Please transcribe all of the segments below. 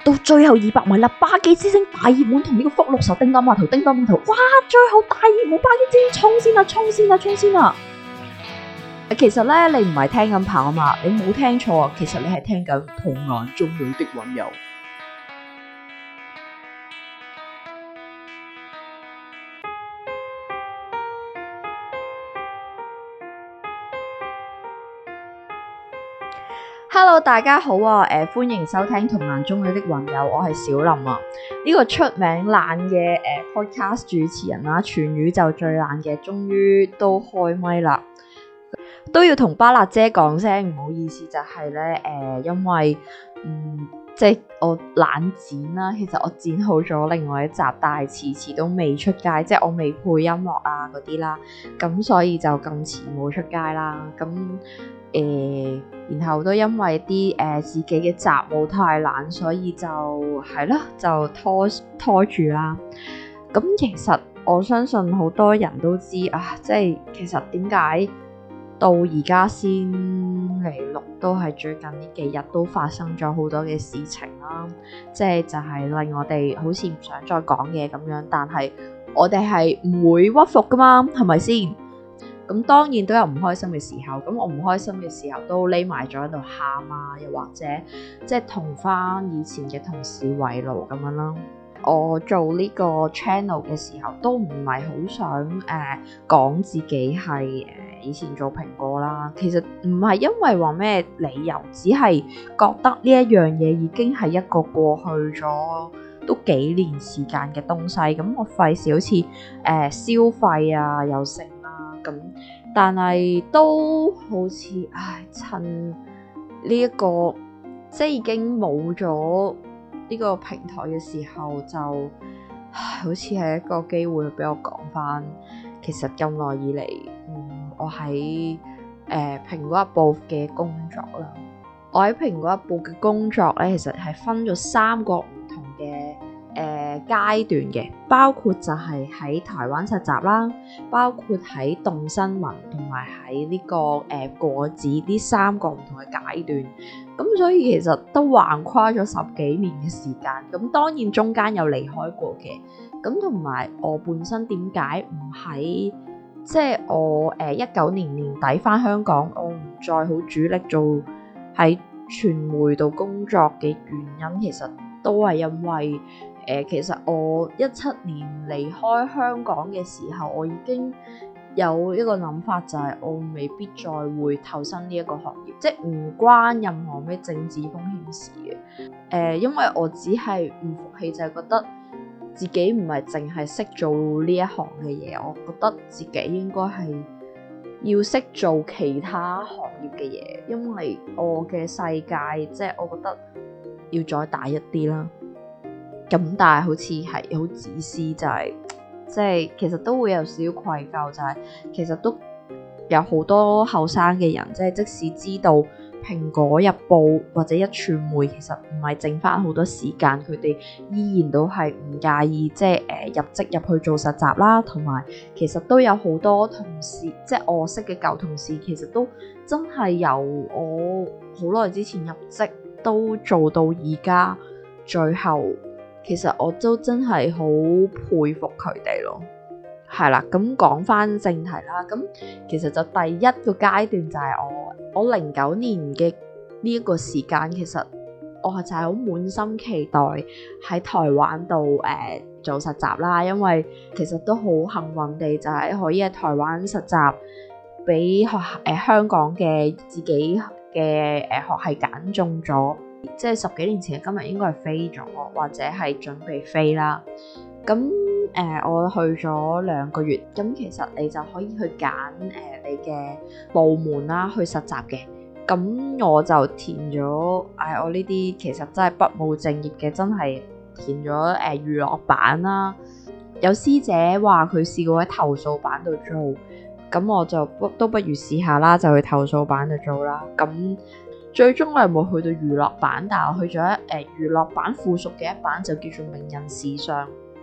到最後200米啦，巴基之星大熱門同呢個福祿壽叮噹碼頭，哇！最後大熱門巴基之星衝先啦！其實咧，你唔係聽緊跑馬，你冇聽錯啊！其實你係聽緊同眼中女的溫柔。Hello， 大家好啊！歡迎收聽同眼中女的溫柔，我係小林啊。呢個出名懶嘅podcast 主持人啦，全宇宙最懶嘅，終於都開咪啦。都要同巴辣姐講聲唔好意思，就係咧因為即係我懶剪啦，其實我剪好咗另外一集，但係遲都未出街，即係我未配音樂啊嗰啲啦，咁所以就咁遲冇出街啦。咁然後都因為啲自己嘅雜務太懶，所以就係啦，就拖住啦。咁其實我相信好多人都知啊，即係其實點解到而家先嚟錄，都係最近呢幾日都發生咗好多嘅事情啦。即係就係令我哋好似唔想再講嘢咁樣，但係我哋係唔會屈服噶嘛，係咪先？咁當然都有唔開心嘅時候，咁我唔開心嘅時候都匿埋咗喺度喊啊，又或者即係同翻以前嘅同事圍爐咁樣啦。我做呢個 channel 嘅時候都唔係好想講自己係以前做蘋果啦。其實唔係因為話咩理由，只係覺得呢一樣嘢已經係一個過去咗都幾年時間嘅東西。咁我費事好似消費啊又成啦咁，但係都好似趁呢一個即係已經冇咗呢個平台嘅時候，就好似係一個機會俾我講翻，其實咁耐以嚟，我喺蘋果日報嘅工作啦。我喺蘋果日報嘅工作咧，其實係分咗3個唔同嘅階段嘅，包括就係喺台灣實習啦，包括喺動新聞同埋喺呢個果子呢3個唔同嘅階段。咁所以其實都橫跨咗10幾年嘅時間，咁當然中間有離開過嘅，咁同埋我本身點解唔喺即係我19年年底返香港，我唔再好主力做喺傳媒度工作嘅原因，其實都係因為其實我17年離開香港嘅時候，我已經有一個諗法，就係我未必再會投身呢一個行業，即係唔關任何咩政治風險事嘅。因為我只係唔服氣，就係覺得自己唔係淨係識做呢一行嘅嘢，我覺得自己應該係要識做其他行業嘅嘢，因為我嘅世界即係我覺得要再大一啲啦。咁但係好似係好自私，就係即係其實都會有少少愧疚，就係其實都有好多後生嘅人，即係即使知道蘋果日報或者一傳媒其實唔係剩翻好多時間，佢哋依然都係唔介意即係入職入去做實習啦，同埋其實都有好多同事，即係我識嘅舊同事，其實都真係由我好耐之前入職都做到而家，最後其實我都真係好佩服佢哋咯。係啦，咁講翻正題啦。咁其實就第一個階段就係我09年嘅呢一個時間，其實我就係好滿心期待喺台灣度做實習啦。因為其實都好幸運地就係可以喺台灣實習，俾香港嘅自己嘅學系揀中咗。即係10幾年前嘅今日應該係飛咗，或者係準備飛啦。咁我去咗2個月，咁其實你就可以去揀你嘅部門啦，去實習嘅。咁我就填咗我呢啲其實真係不務正業嘅，真係填咗娛樂版啦。有師姐話佢試過喺投訴版度做，咁我就都不如試下啦，就去投訴版度做啦。咁最終我係冇去到娛樂版，但係我去咗娛樂版附屬嘅一版，就叫做名人時尚。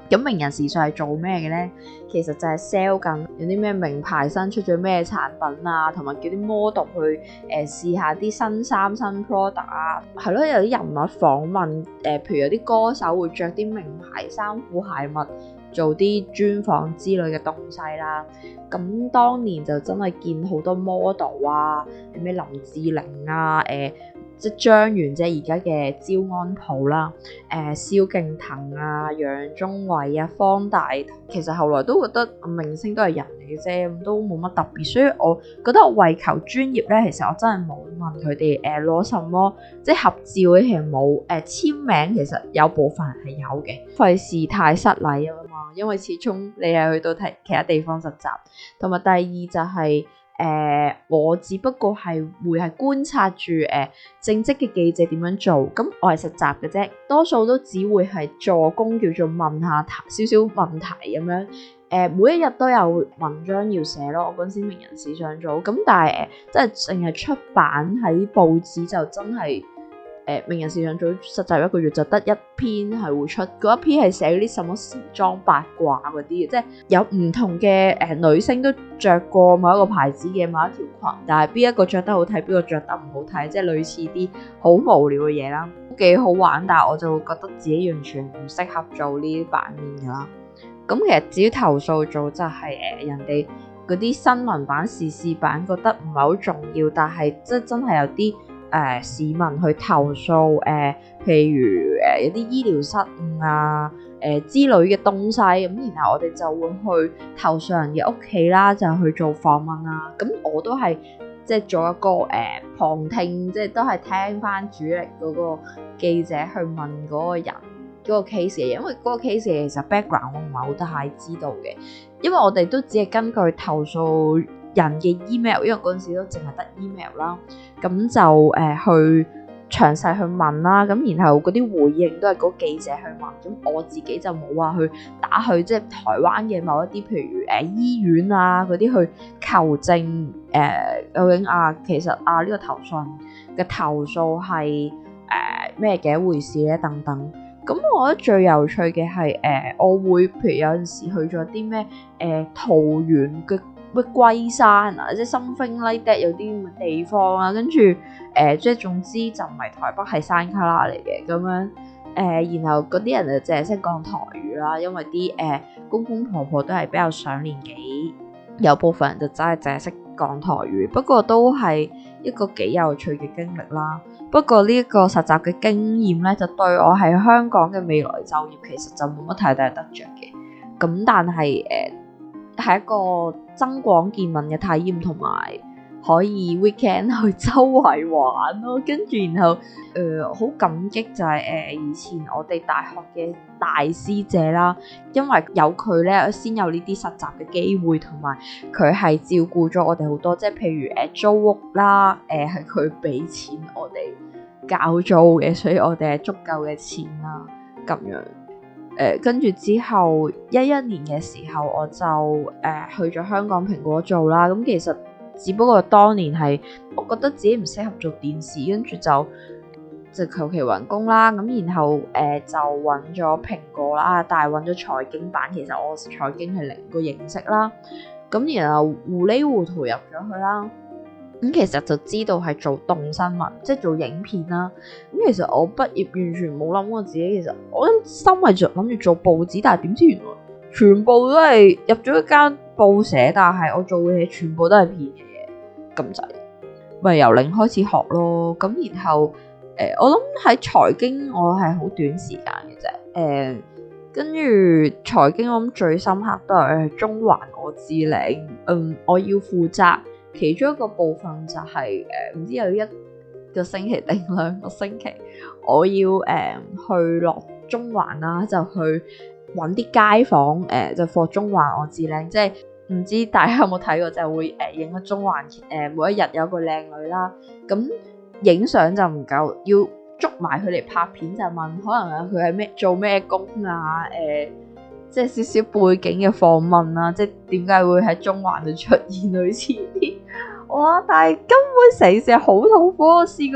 咁名人時尚係做咩嘅咧？其實就係 sell 緊有啲咩名牌新出咗咩產品啊，同埋叫啲 model 去試下啲新衫新 product 啊，係咯，有啲人物訪問譬如有啲歌手會着啲名牌衫褲鞋襪做啲專訪之類嘅東西啦。咁當年就真係見好多 model 啊，咩林志玲啊，即係張元姐而家嘅焦安普啦，蕭敬騰啊、楊宗緯啊、方大同，其實後來都覺得明星都係人嚟嘅啫，咁都冇乜特別，所以我覺得我為求專業咧，其實我真係冇問佢哋攞什麼，即係合照嘅其實冇，簽名其實有部分人係有嘅，費事太失禮啊嘛，因為始終你係去到其他地方實習，同埋第二就係、我只不過係會係觀察住正職嘅記者點樣做，咁我係實習嘅啫，多數都只會係助攻，叫做問下少少問題咁樣。每一日都有文章要寫咯，我嗰陣時名人時尚組，咁但係即係淨係出版喺報紙就真係。名人時尚組實習一個月就得一篇係會出，嗰一篇係寫嗰啲什麼時裝八卦嗰啲，即係有唔同嘅女星都着過某一個牌子嘅某一條裙，但係邊一個着得好睇，邊個着得唔好睇，即係類似啲好無聊嘅嘢啦，都幾好玩，但係我就會覺得自己完全唔適合做呢啲版面噶啦。咁其實至於投訴組就係人哋嗰啲新聞版、時事版覺得唔係好重要，但係即係真係有啲。市民去投訴譬如有啲醫療失誤啊之類嘅東西，咁然後我哋就會去投訴人嘅屋企啦，就去做訪問啦。咁我都係即係做一個旁聽，即係都係聽翻主力嗰個記者去問嗰個人嗰個 case 嘅，因為嗰個 case 其實 background 我唔係好太知道嘅，因為我哋都只係根據投訴人嘅 email， 因為嗰陣時都淨係得 email 啦，咁就去詳細去問啦，咁然後嗰啲回應都係嗰記者去問，咁我自己就冇話去打去即係台灣嘅某一啲譬如醫院啊嗰啲去求證究竟其實呢個投訴人嘅投訴係咩嘅一回事咧等等。咁我覺得最有趣嘅係我會譬如有陣時去咗啲咩桃園嘅咩龜山啊，即係 something like that 有啲咁嘅地方啊，跟住即係總之就唔係台北係山卡拉嚟嘅咁樣然後嗰啲人就淨係識講台語啦，因為啲公公婆婆都係比較上年紀，有部分人就真係淨係識講台語，不過都係一個幾有趣嘅經歷啦。不過呢一個實習嘅經驗咧，就對我喺香港嘅未來就業其實就冇乜太大得着嘅，咁但係係一個增廣見聞嘅體驗，同埋可以 weekend 去周圍玩咯。跟住然後好感激就係以前我哋大學嘅大師姐啦，因為有佢咧先有呢啲實習嘅機會，同埋佢係照顧咗我哋好多，即係譬如租屋啦，係佢俾錢我哋交租嘅，所以我哋係足夠嘅錢啦咁樣。跟住之後11年嘅時候，我就去咗香港蘋果做啦。咁其實只不過當年係我覺得自己唔適合做電視，跟住就求其揾工啦。咁然後就揾咗蘋果啦，但係揾咗財經版，其實我財經係零個認識啦。咁然後糊裡糊塗入咗去啦。咁其實就知道係做動新聞，即係做影片啦。咁其實我畢業完全冇諗過自己，其實我心係諗住做報紙，但係點知原來全部都係入咗一間報社，但係我做嘅嘢全部都係騙嘅嘢，咁就咪由零開始學咯。咁然後我諗喺財經我係好短時間嘅啫。跟住財經我諗最深刻都係中環我致領，我要負責。其中一個部分就係唔知有一個星期定2個星期，我要去落中環啦，就去揾啲街坊就放中環我致領，即係唔知大家有冇睇過，就會影個中環每一日有個靚女啦，咁影相就唔夠，要捉埋佢嚟拍片，就問可能佢係做咩工啊，即係少少背景嘅訪問啦，即係點解會喺中環度出現類似啲，哇！但係根本成事好痛苦，我試過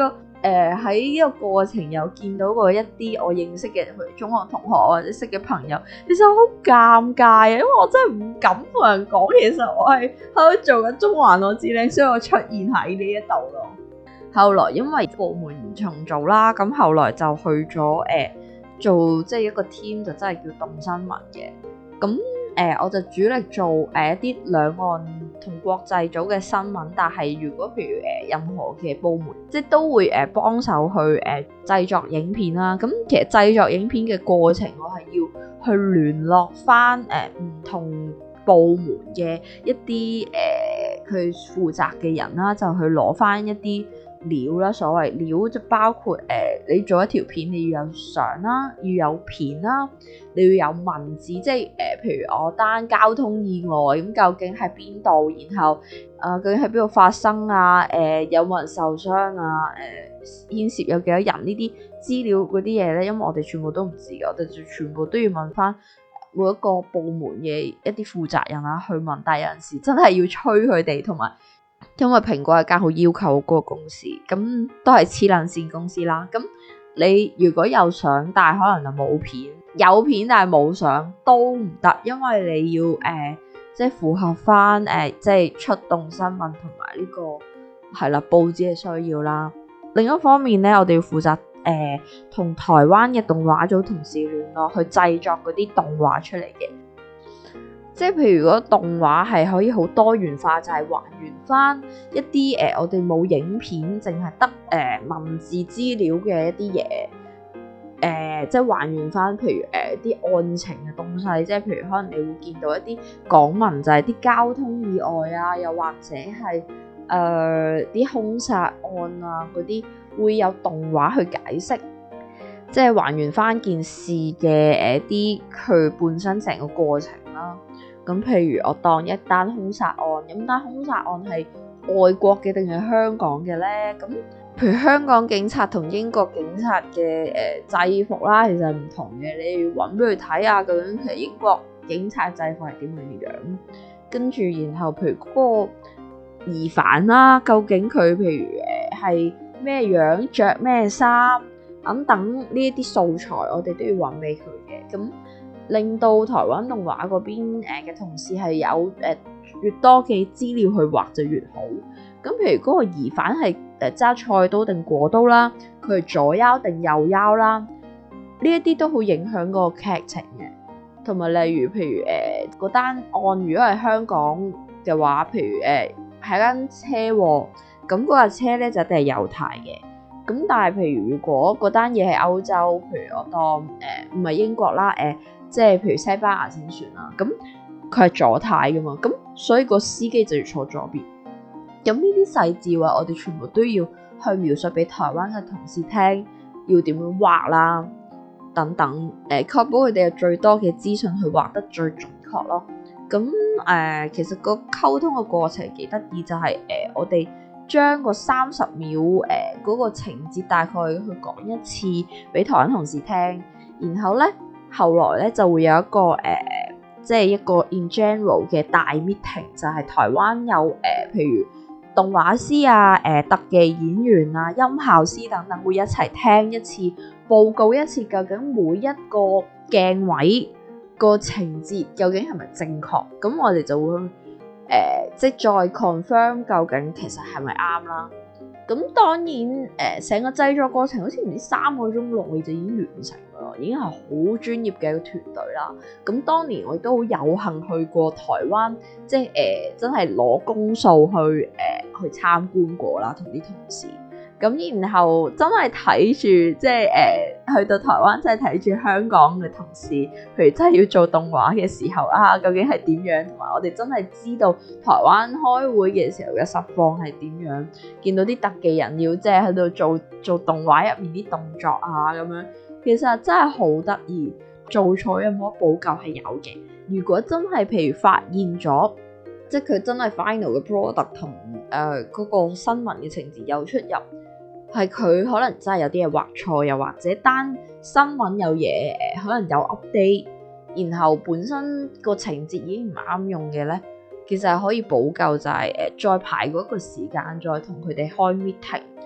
喺呢個過程又見到過一啲我認識嘅中學同學或者識嘅朋友，其實我好尷尬啊，因為我真係唔敢同人講，其實我係喺度做緊中環我知靚，所以我出現喺呢一度咯。後來因為部門重組啦，咁後來就去咗做即係一個 team，就真係叫動新聞嘅。咁我就主力做一啲兩岸同國際組嘅新聞，但係如果譬如任何嘅部門，即係都會幫手去製作影片啦。咁其實製作影片嘅過程，我係要去聯絡翻唔同部門嘅一啲佢負責嘅人啦，就去攞翻一啲料啦。所謂料就包括你做一條片，你要有相啦，要有片啦，你要有文字，即係譬如我單交通意外咁，究竟喺邊度，然後究竟喺邊度發生啊？有冇人受傷啊？牽涉有幾多人呢啲資料嗰啲嘢咧？因為我哋全部都唔知嘅，我哋就全部都要問翻每一個部門嘅一啲負責人啦去問。但係有陣時真係要催佢哋，同埋因為蘋果係間好要求嗰個公司，咁都係黐撚線公司啦。咁你如果有相，但係可能就冇片；有片但係冇相都唔得，因為你要即係符合翻即係出動新聞同埋呢個係啦報紙嘅需要啦。另一方面咧，我哋要負責同台灣嘅動畫組同事聯絡去製作嗰啲動畫出嚟嘅。即係譬如如果動畫係可以好多元化，就係還原翻一啲我哋冇影片，淨係得文字資料嘅一啲嘢，即係還原翻譬如啲案情嘅東西，即係譬如可能你會見到一啲港聞，就係啲交通意外啊，又或者係啲兇殺案啊嗰啲，會有動畫去解釋，即係還原翻件事嘅啲佢本身成個過程啦。咁譬如我當一單兇殺案，咁單兇殺案係外國嘅定係香港嘅咧？咁譬如香港警察同英國警察嘅制服啦，其實係唔同嘅。你要揾俾佢睇下，究竟其實英國警察制服係點樣樣？跟住然後譬如嗰個疑犯啦，究竟佢譬如係咩樣、着咩衫等等呢一啲素材，我哋都要揾俾佢嘅。咁令到台灣動畫嗰邊嘅同事係有越多嘅資料去畫就越好。咁譬如嗰個疑犯係揸菜刀定果刀啦，佢係左腰定右腰啦，呢一啲都好影響個劇情嘅。同埋例如譬如嗰單案如果係香港嘅話，譬如係間車禍，咁嗰架車咧就一定係右軚嘅。咁但係譬如如果嗰單嘢係歐洲，譬如我當唔係英國啦，即係譬如西班牙先算啦，咁佢係左軚噶嘛，咁所以個司機就要坐左邊。咁呢啲細節話，我哋全部都要去描述俾台灣嘅同事聽，要點樣畫啦，等等，確保佢哋有最多嘅資訊去畫得最準確咯。咁其實個溝通嘅過程幾得意，就係我哋將個30秒嗰個情節大概去講一次俾台灣同事聽，然後咧後來咧就會有一個即係一個 in general 嘅大 meeting， 就係台灣有譬如動畫師啊、特技演員啊、音效師等等會一齊聽一次，報告一次究竟每一個鏡位個情節究竟係咪正確，咁我哋就會即係再 confirm 究竟其實係咪啱啦。咁當然成個製作過程好似唔知3個鐘內就已經完成啦，已經係好專業嘅一個團隊啦。咁當年我亦都好有幸去過台灣，即係真係攞公數去參觀過啦，同啲同事。咁然後真係睇住，即係去到台灣真係睇住香港嘅同事，譬如真係要做動畫嘅時候啊，究竟係點樣？同埋我哋真係知道台灣開會嘅時候嘅實況係點樣，見到啲特技人要即係喺度做動畫入面啲動作啊咁樣，其實真係好得意。做錯有冇得補救係有嘅。如果真係譬如發現咗，即係佢真係 final 嘅 product 同嗰個新聞嘅情節有出入，係佢可能真係有啲嘢畫錯，又或者單新聞有嘢可能有 update， 然後本身個情節已經唔啱用嘅咧，其實係可以補救，就係再排嗰個時間，再同佢哋開 meeting，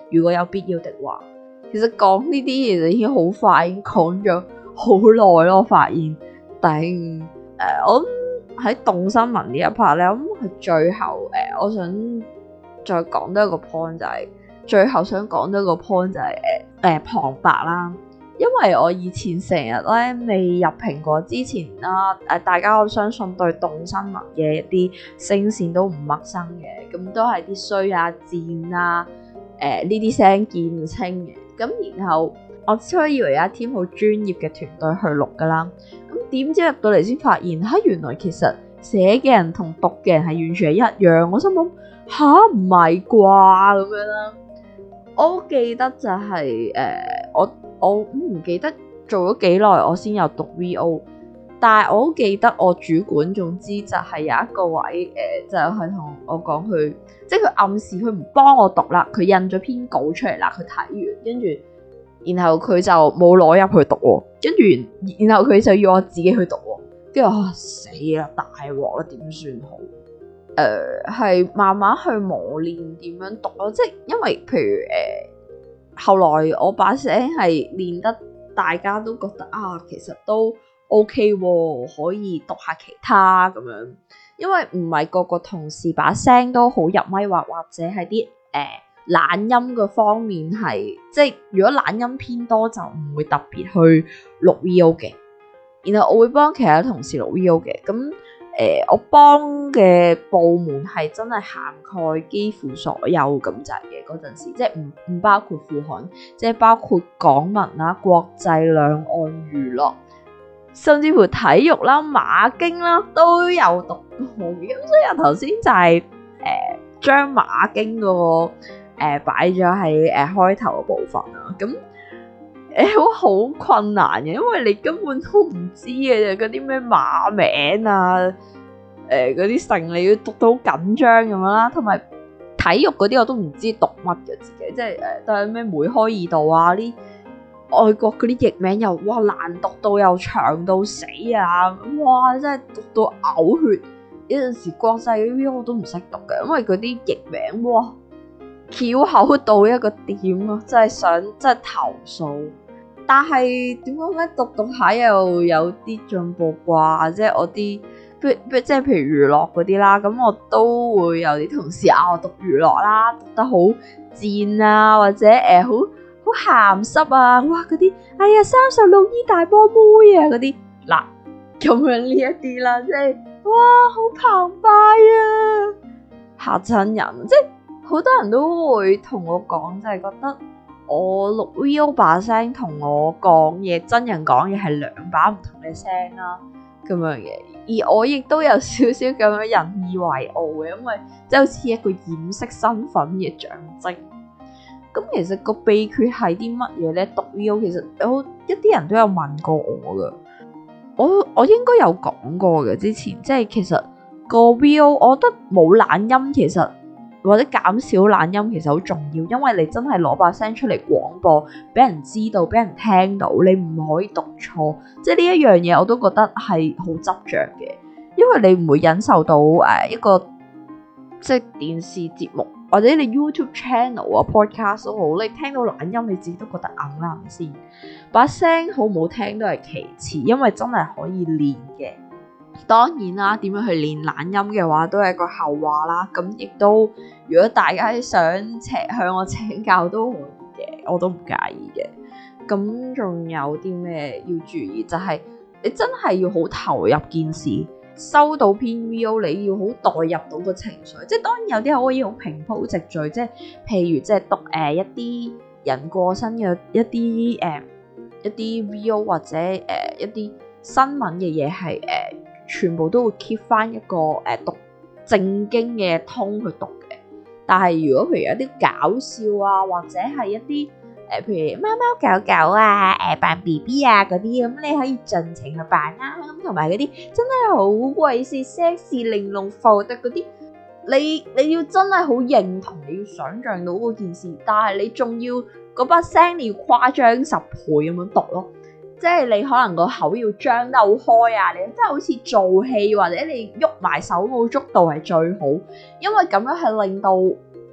如果有必要的話。其實講呢啲嘢就已經好快，已經講咗好耐咯。我發現，我喺動新聞呢一 part 咧，咁係最後我想再講多一個 point 就係、是，最後想講多一個 point 就係旁白啦。因為我以前成日咧未入蘋果之前啦，大家我相信對動新聞嘅一啲聲線都唔陌生嘅，咁都係啲衰啊、賤啊，呢啲聲見唔清嘅。咁然後我初以為有一 team 好專業嘅團隊去錄噶啦，咁點知入到嚟先發現，原來其實寫嘅人同讀嘅人係完全係一樣。我心諗唔係啩咁樣啦。我記得就係我唔記得做咗幾耐我先有讀 VO， 但係我好記得我主管總之就係有一個位就係同我講佢，即係佢暗示佢唔幫我讀啦，佢印咗篇稿出嚟啦，佢睇完跟住，然後佢就冇攞入去讀喎，跟住然後佢就要我自己去讀喎，跟住死啦，大鑊啦，點算好？係慢慢去磨練點樣讀咯，即係因為譬如後來我把聲係練得大家都覺得其實都 OK 喎，可以讀下其他咁樣。因為唔係個個同事把聲都好入咪，或者係啲懶音嘅方面係，即係如果懶音偏多就唔會特別去錄 VO 嘅。然後我會幫其他同事錄 VO 嘅，咁我幫嘅部門係真係涵蓋幾乎所有咁滯嘅嗰陣時，即係唔包括副刊，即係包括港聞啦、國際兩岸娛樂，甚至乎體育啦、馬經啦都有讀過嘅。咁所以我頭先就係將馬經嗰個擺咗喺開頭嘅部分啦。咁好困難嘅，因為你根本都唔知嘅，嗰啲咩馬名啊，嗰啲成你要讀到好緊張咁樣啦，同埋體育嗰啲我都唔知讀乜嘅自己，即係都係咩梅開二度啊，啲外國嗰啲譯名又難讀到又長到死啊，真係讀到嘔血。有陣時國際嗰啲我都唔識讀嘅，因為嗰啲譯名翹口到一個點咯，真係投訴。但係點講咧？讀下又有啲進步啩，即係我啲即係譬如娛樂嗰啲啦，咁我都會有啲同事我讀娛樂啦，讀得好賤啊，或者好鹹濕啊，嗰啲36E 大波妹啊嗰啲嗱，咁樣呢一啲啦，即係好澎湃啊，嚇親人，即係好多人都會同我講，就係覺得我錄 VO 把聲同我講嘢真人講嘢係兩把唔同嘅聲啦，咁樣嘅。而我亦都有少少咁樣引以為傲嘅，因為即係好似一個掩飾身份嘅象徵。咁其實個秘訣係啲乜嘢咧？讀 VO 其實有一啲人都有問過我噶，我應該有講過嘅之前，即係其實個 VO 我覺得冇懶音，其實或者減少懶音其實好重要，因為你真係攞把聲出嚟廣播，俾人知道，俾人聽到，你唔可以讀錯，即係呢一樣嘢我都覺得係好執着嘅，因為你唔會忍受到一個即係電視節目或者你 YouTube channel 啊 podcast 都好，你聽到懶音你自己都覺得硬啦先，把聲好唔好聽都係其次，因為真係可以練嘅。當然啦，點樣去練懶音嘅話都係個後話啦。咁亦都如果大家想向我請教都可以嘅，我都唔介意嘅。咁仲有啲咩要注意？就係你真係要好投入件事，收到篇 VO 你要好代入到個情緒。即係當然有啲可以好平鋪直敘，即係譬如即係讀一啲人過身嘅一啲 VO 或者一啲新聞嘅嘢係全部都會 keep 翻一個讀正經嘅通去讀嘅，但係如果譬如一啲搞笑啊，或者係一啲譬如貓貓狗狗啊，扮 BB 啊嗰啲，咁你可以盡情去扮啦。咁同埋嗰啲真係好鬼死 sexy 玲瓏浮凸嗰啲，你要真係好認同，你要想像到嗰件事，但係你仲要嗰把聲你要誇張10倍咁樣讀咯。即係你可能個口要張得好開啊，你真係好似做戲，或者你喐埋手舞足蹈係最好，因為咁樣係令到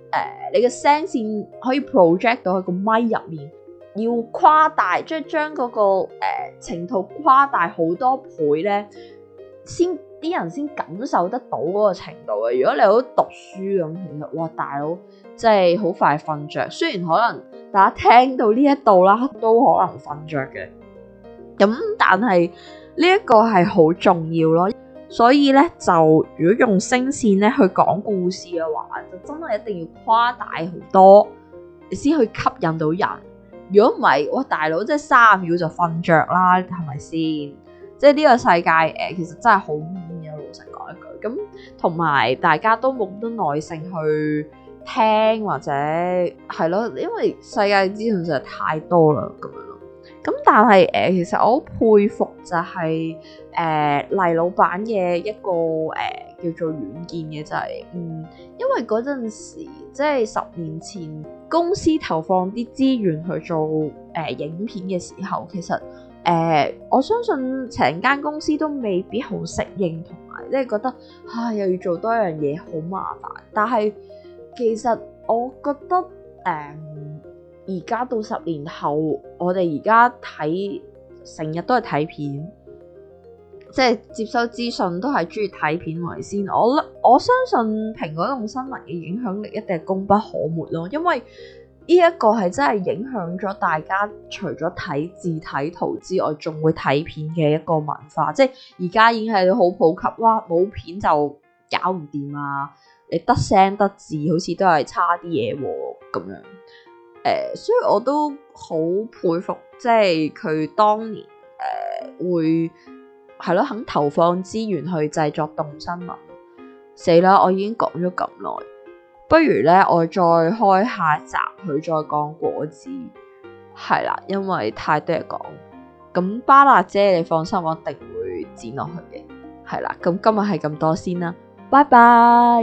你嘅聲線可以 project 到喺個咪入面，要誇大，即係將嗰個程度誇大好多倍咧，先啲人先感受得到嗰個程度嘅。如果你好讀書咁，其實哇大佬即係好快瞓着。雖然可能大家聽到呢一度啦，都可能瞓着嘅，咁但係呢一個係好重要咯。所以咧，就如果用聲線咧去講故事嘅話，就真係一定要誇大好多，你先去吸引到人。如果唔係，哇大佬即係3秒就瞓着啦，係咪先？即係呢個世界其實真係好悶嘅，老實講一句。咁同埋大家都冇咁多耐性去聽或者係咯，因為世界資訊實在太多啦，咁樣咯。咁但係其實我好佩服就係黎老闆嘅一個叫做遠見嘅，就係因為嗰陣時即係10年前公司投放啲資源去做影片嘅時候，其實我相信成間公司都未必好適應，同埋即係覺得又要做多一樣嘢好麻煩。但係其實我覺得而家到10年後，我哋而家睇成日都係睇片，即係接收資訊都係中意睇片為先。我相信蘋果動新聞嘅影響力一定係功不可沒咯，因為呢一個係真係影響咗大家除咗睇字睇圖之外，仲會睇片嘅一個文化。即係而家已經係好普及，哇冇片就搞唔掂啊！你得聲得字好似都係差啲嘢咁樣。所以我都好佩服，即係佢當年會係咯肯投放資源去製作動新聞。死啦！我已經講咗咁耐，不如咧我再開下集去再講果子，係啦，因為太多嘢講。咁巴辣姐你放心，我一定會剪落去嘅。係啦，咁今日係咁多先啦，拜拜。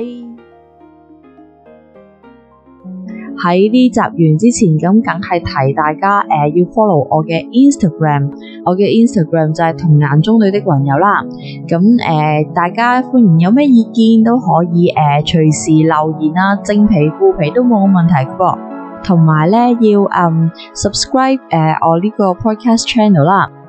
喺呢集完之前，咁梗係提大家要 follow 我嘅 Instagram， 我嘅 Instagram 就係童顏中女的雲友啦。咁大家歡迎有咩意見都可以隨時留言啦，正皮負皮都冇問題嘅噃。同埋咧要subscribe我呢個 podcast channel 啦。